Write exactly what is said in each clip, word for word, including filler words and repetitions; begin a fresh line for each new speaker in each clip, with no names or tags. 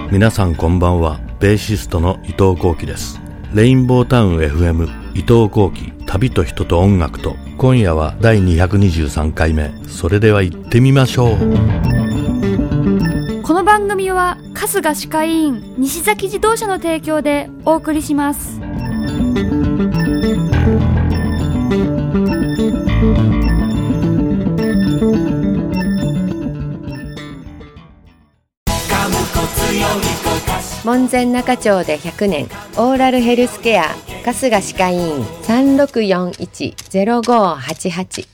皆さんこんばんは。ベーシストの伊藤幸喜です。レインボータウン エフエム 伊藤幸喜、旅と人と音楽と。今夜はだいにひゃくにじゅうさんかいめ。それでは行ってみましょう。
この番組は春日歯科医院西崎自動車の提供でお送りします。
門前仲町でひゃくねん、オーラルヘルスケア春日歯科医院 さんろくよんいち ゼロごはちはち。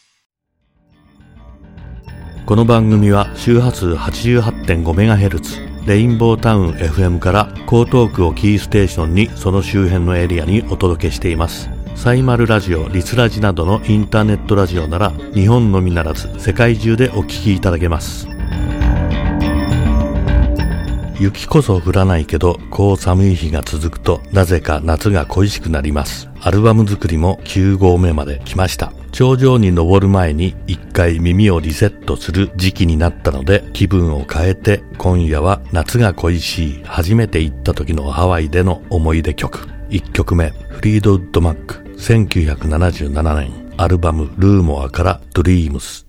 この番組は周波数 はちじゅうはちてんごメガヘルツ レインボータウン エフエム から江東区をキーステーションにその周辺のエリアにお届けしています。サイマルラジオ、リスラジなどのインターネットラジオなら日本のみならず世界中でお聞きいただけます。雪こそ降らないけど、こう寒い日が続くとなぜか夏が恋しくなります。アルバム作りもきゅうごうめまで来ました。頂上に登る前に一回耳をリセットする時期になったので、気分を変えて今夜は夏が恋しい初めて行った時のハワイでの思い出曲。いっきょくめ、フリードウッドマック、せんきゅうひゃくななじゅうななねんアルバムルーモアからドリームス。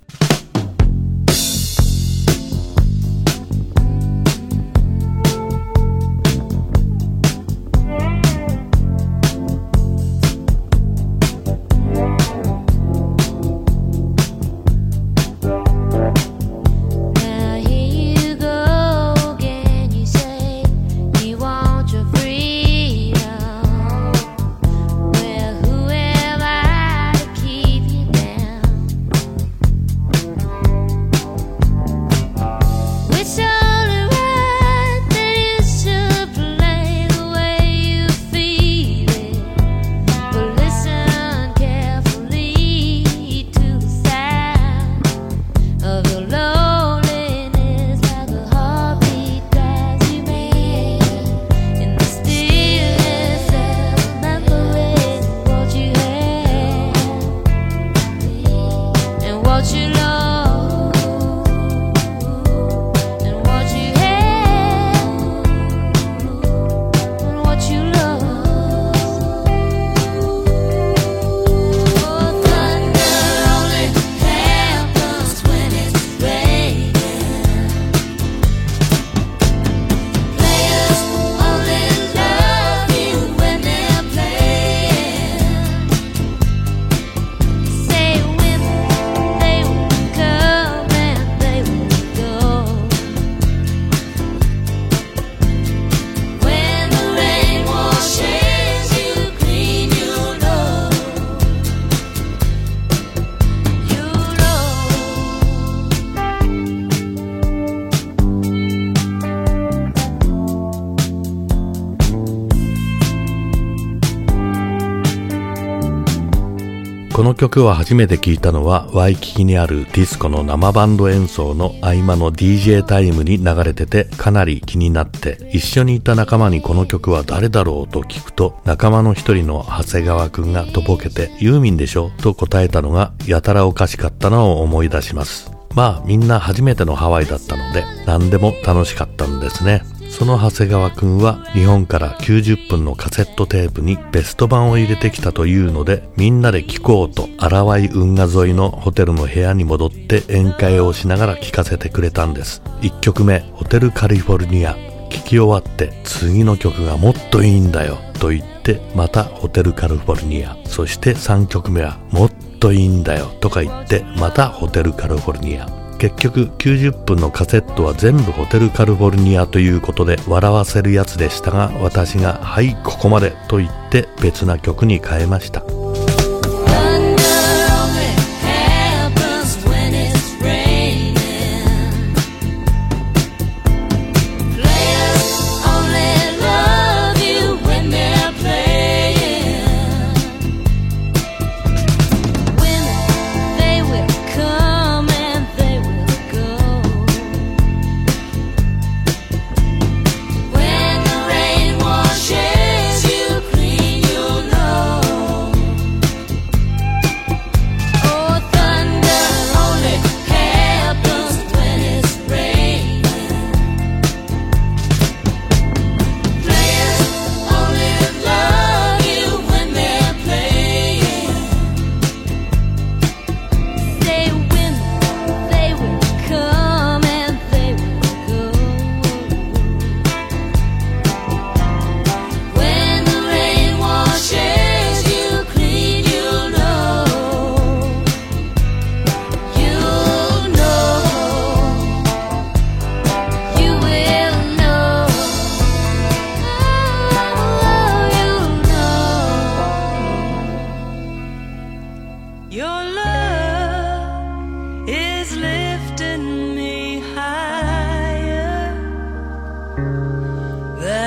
この曲を初めて聴いたのはワイキキにあるディスコの生バンド演奏の合間の ディージェー タイムに流れててかなり気になって、一緒にいた仲間にこの曲は誰だろうと聞くと、仲間の一人の長谷川くんがとぼけてユーミンでしょと答えたのがやたらおかしかったのを思い出します。まあみんな初めてのハワイだったので何でも楽しかったんですね。その長谷川くんは日本からきゅうじゅっぷんのカセットテープにベスト版を入れてきたというので、みんなで聴こうと荒井運河沿いのホテルの部屋に戻って宴会をしながら聴かせてくれたんです。いっきょくめ、ホテルカリフォルニア。聴き終わって次の曲がもっといいんだよと言ってまたホテルカリフォルニア。そしてさんきょくめはもっといいんだよとか言ってまたホテルカリフォルニア。結局きゅうじゅっぷんのカセットは全部ホテルカリフォルニアということで笑わせるやつでしたが、私がはいここまでと言って別な曲に変えました。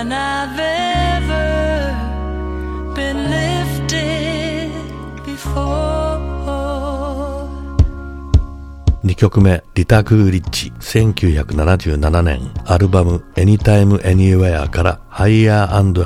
than I've ever been lifted before。
にきょくめ、リタ・グーリッチ、せんきゅうひゃくななじゅうななねん、アルバム Anytime Anywhere から Higher and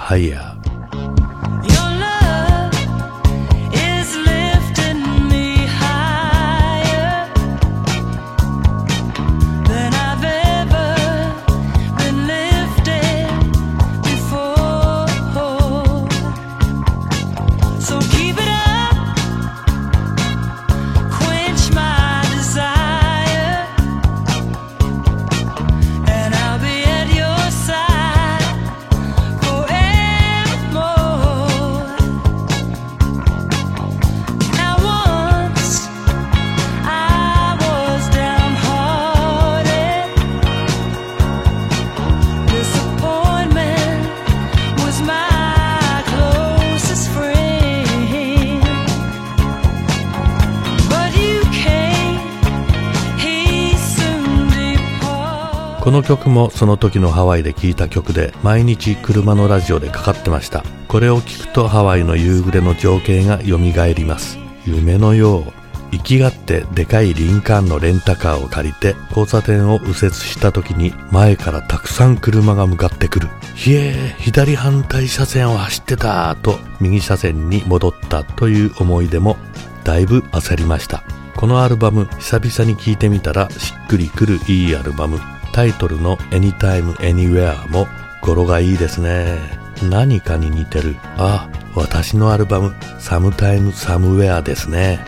Higher。この曲もその時のハワイで聴いた曲で、毎日車のラジオでかかってました。これを聴くとハワイの夕暮れの情景が蘇ります。夢のよう。行きがってでかいリンカーンのレンタカーを借りて交差点を右折した時に前からたくさん車が向かってくる。ひえー、左反対車線を走ってたと右車線に戻ったという思い出もだいぶ焦りました。このアルバム久々に聴いてみたらしっくりくるいいアルバム。タイトルの Anytime Anywhere も語呂がいいですね。何かに似てる。あ、私のアルバム Sometime Somewhere ですね。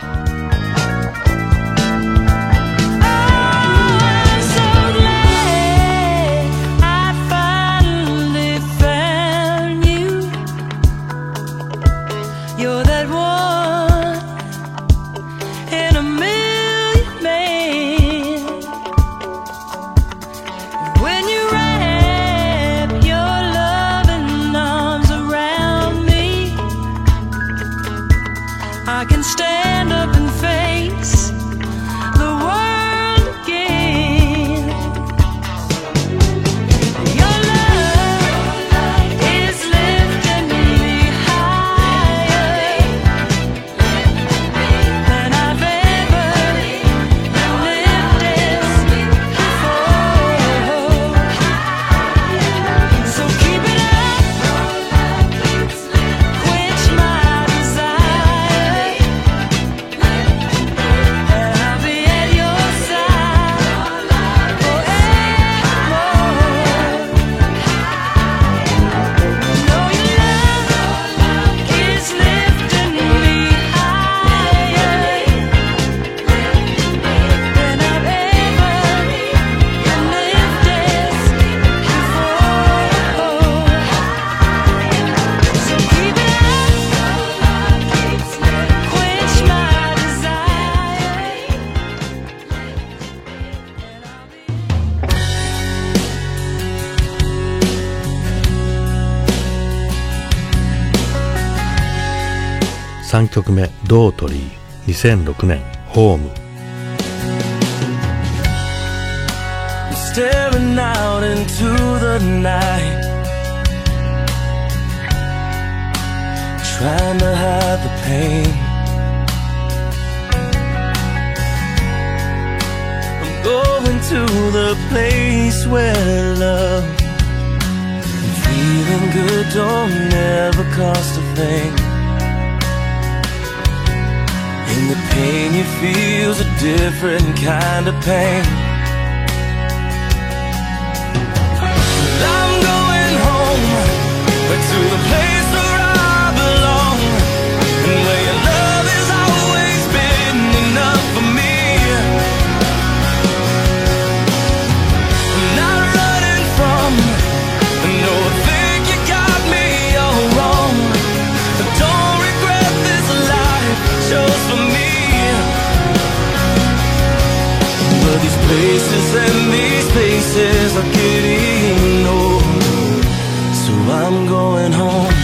I can stand up and face the world again. Your love is lifting me higher than I've ever been lifted before. So keep it up, quench my desire.
さんきょくめ、ドートリー、にせんろくねん、ホーム。
Staring out into the night, trying to hide the pain. I'm going to the place where love and feeling good don't ever cost a thing. And the pain you feel's a different kind of pain. I'm going home, but to the place where I belong, and where your love has always been enough for me. I'm not running from, no, I think you got me all wrong. I don't regret this life chose for me. But these places and these places are getting old, so I'm going home.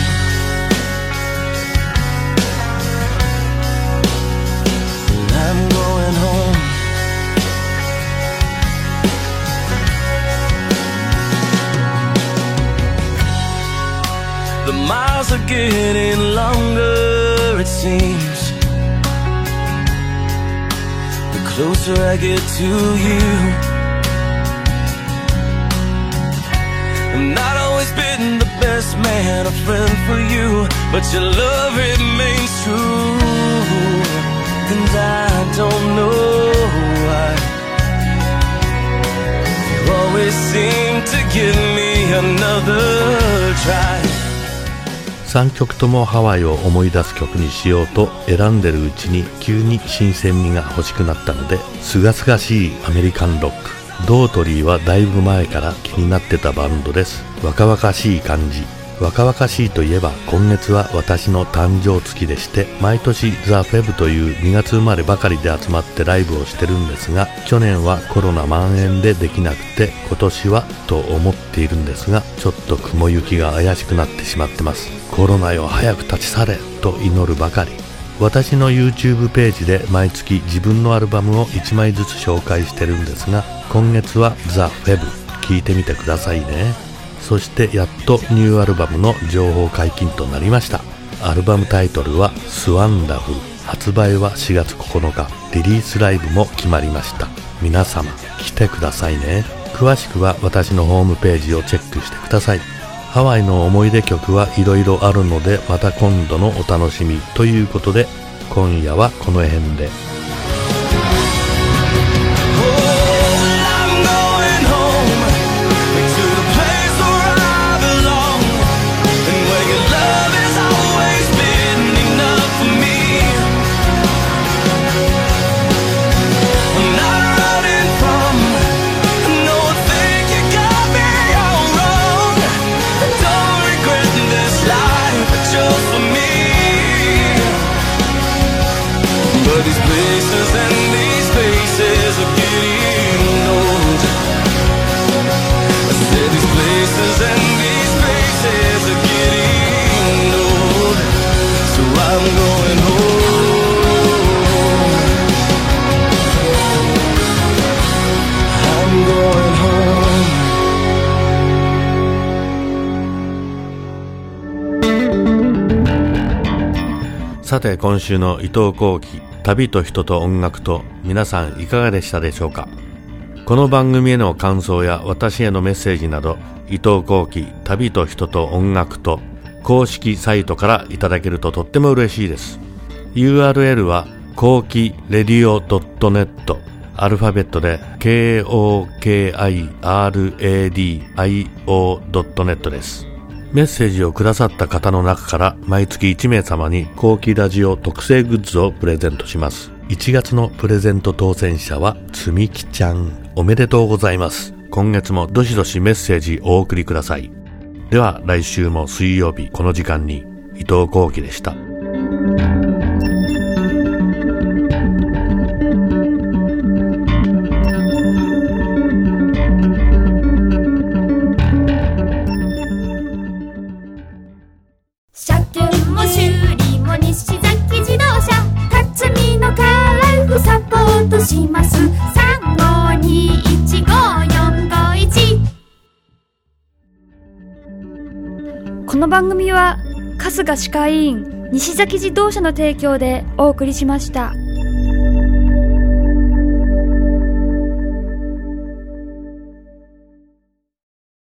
I'm going home. miles are getting longer, it seems. The closer I get to you, I'm not always been the best man, a friend for you, but your love remains true. And I don't know why you always seem to give me another try.
さんきょくともハワイを思い出す曲にしようと選んでるうちに急に新鮮味が欲しくなったので、すがすがしいアメリカンロック。ドートリーはだいぶ前から気になってたバンドです。若々しい感じ。若々しいといえば今月は私の誕生月でして、毎年ザ・フェブというにがつ生まればかりで集まってライブをしてるんですが、去年はコロナ蔓延でできなくて、今年はと思っているんですが、ちょっと雲行きが怪しくなってしまってます。コロナよ早く立ち去れと祈るばかり。私の YouTube ページで毎月自分のアルバムをいちまいずつ紹介してるんですが、今月はザ・フェブ聴いてみてくださいね。そしてやっとニューアルバムの情報解禁となりました。アルバムタイトルはスワンダフル。発売はしがつここのか。リリースライブも決まりました。皆様来てくださいね。詳しくは私のホームページをチェックしてください。ハワイの思い出曲はいろいろあるので、また今度のお楽しみということで、今夜はこの辺で。
But these places and these faces are getting old. I said these places and these faces are getting old. So I'm going home. I'm going home.
さて今週の伊藤幸喜旅と人と音楽と、皆さんいかがでしたでしょうか。この番組への感想や私へのメッセージなど、伊藤幸喜旅と人と音楽と公式サイトからいただけるととっても嬉しいです。 ユーアールエル は幸喜レディオ ドットネット、 アルファベットで ケーオーケーアイアールエーディーアイオー ドットネット です。メッセージをくださった方の中から毎月いちめい様に幸喜ラジオ特製グッズをプレゼントします。いちがつのプレゼント当選者はつみきちゃん、おめでとうございます。今月もどしどしメッセージお送りください。では来週も水曜日この時間に、伊藤幸喜でした。
車検も修理も西崎自動車、辰巳のカラーフサポートします。さんごにいちごよんごいち。この番組は春日歯科医院西崎自動車の提供でお送りしました。